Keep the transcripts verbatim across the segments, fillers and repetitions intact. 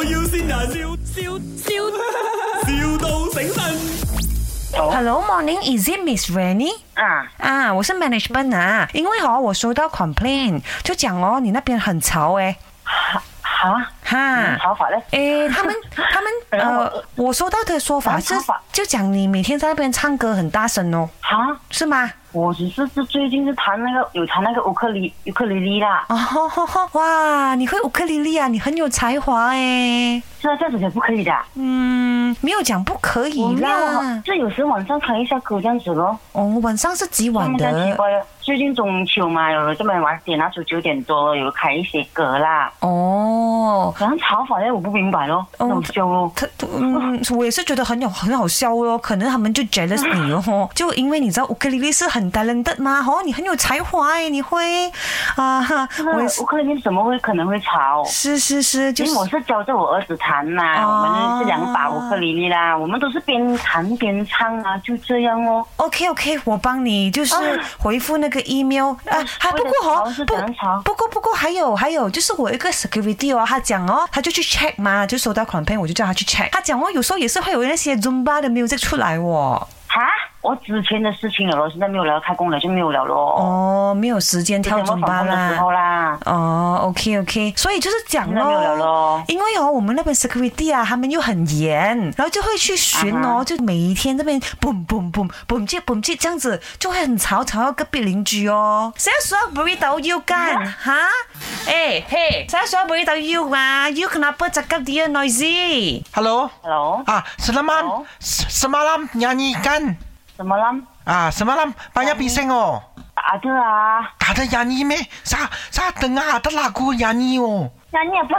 要先人，笑笑笑，,笑到醒神。 Hello, morning. Is it Miss Rennie? 啊啊，我是 management 啊，因为哦，我收到 complaint，就讲哦，你那边很吵诶。 哈哈， 吵法嘞？ 诶，他们他们呃，我收到的说法是，就讲你每天在那边唱歌很大声哦。 哈， 是吗？ 我只是是最近是弹那个有弹那个乌克丽乌克丽丽啦。 哦吼吼吼，哇，你会乌克丽丽啊？你很有才华诶。 是啊，这样子才不可以的。 嗯，没有讲不可以啦。 就有时晚上开一下歌这样子咯。 哦，晚上是几晚的？ 奇怪了，最近中秋嘛，有这么晚点，那时候九点多有开一些歌啦。 哦， 好像吵法嘞，我不明白咯，很好笑咯。 他嗯，我也是觉得很有很好笑咯，可能他们就 jealous 你哦，就因为你知道乌克丽丽是很 talented 嘛，哦，你很有才华哎，你会啊， 我乌克丽丽怎么会可能会吵？ 是是是，就是因为我是教着我儿子弹嘛，哦、我们是两把乌克丽丽啦，我们都是边弹边唱啊，就这样哦。 OK OK， 我帮你就是回复那个 email 啊，还不过哦，不不过不过还有还有，就是我一个 security 哦，他讲哦，他就去 check 嘛，就收到 complaint， 我就叫他去 check， 他讲哦，有时候也是会有那些 Zumba 的 music 出来哦。 哈，我之前的事情了咯，现在没有了，开工了就没有了咯。 哦，没有时间跳尊巴啦。 啦哦 ，OK OK， 所以就是讲咯， 没有了咯。 因为哦，我们那边 security 啊，他们又很严，然后就会去巡哦， uh-huh. 就每一天这边 boom boom boom boom 接 boom 接这样子，就會很吵，吵到隔壁鄰居哦。成日說 burrito 要幹嚇？誒嘿，成日說 burrito 要嘛？要 kenapa cakap dia noisy？ Hello Hello 啊 selamat semalam nyanyi kan? Semalam ah semalam banyak bising oh. Tak ada lah. Tak ada nyanyi meh? Saya saya dengar ada lagu nyanyi oh. Nyanyi apa?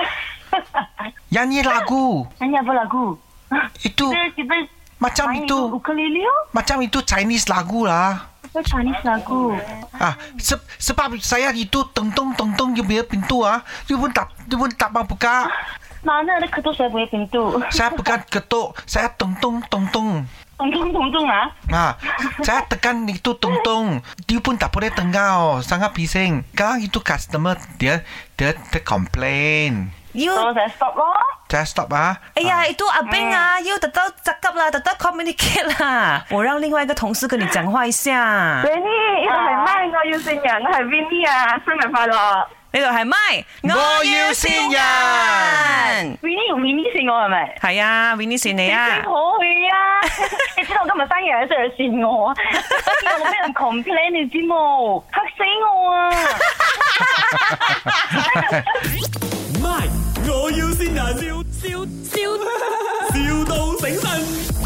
Nyanyi lagu. Nyanyi apa lagu? Itu kita, kita macam itu. Ukulele oh. Macam itu Chinese lagu lah. Apa Chinese lagu? Ah, se- sebab saya itu tong-tong tong-tong you punya pintu ah. You pun tak you pun tak mau buka. Mana ada ketuk saya punya pintu? Saya bukan ketuk, saya tong-tong tong-tong. Tong-tong-tong-tong ah? Ah, saya tekan itu tong-tong. Dia pun tak boleh dengar oh. Sangat bising. Sekarang itu customer dia dia dia complain. You, so saya stop loh. Saya stop ah. 哎呀，itu abeng啊，又得到 cakap 啦，得到 communicate 啦。我讓另外一個同事跟你講話一下。 Rennie，呢度係咪？我要線人，我係 Vinny 啊，生日快樂！ 呢度係咪？ 我要線人。 Vinny 用 Vinny 線我係咪？ 係啊 ，Vinny 線你啊。 你好去啊！你知道我今日生日喺度線我啊！我見到我俾人 complain 你知冇？嚇死我啊！ 唔係，我要先人，笑笑笑，,笑到醒神。